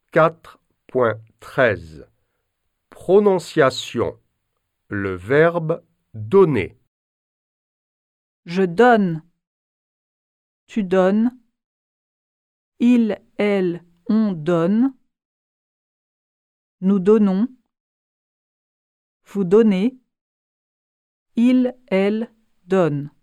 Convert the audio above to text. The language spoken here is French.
4.13 Prononciation. Le verbe donner. Je donne. Tu donnes. Il, elle, on donne. Nous donnons. Vous donnez. Il, elle, donne.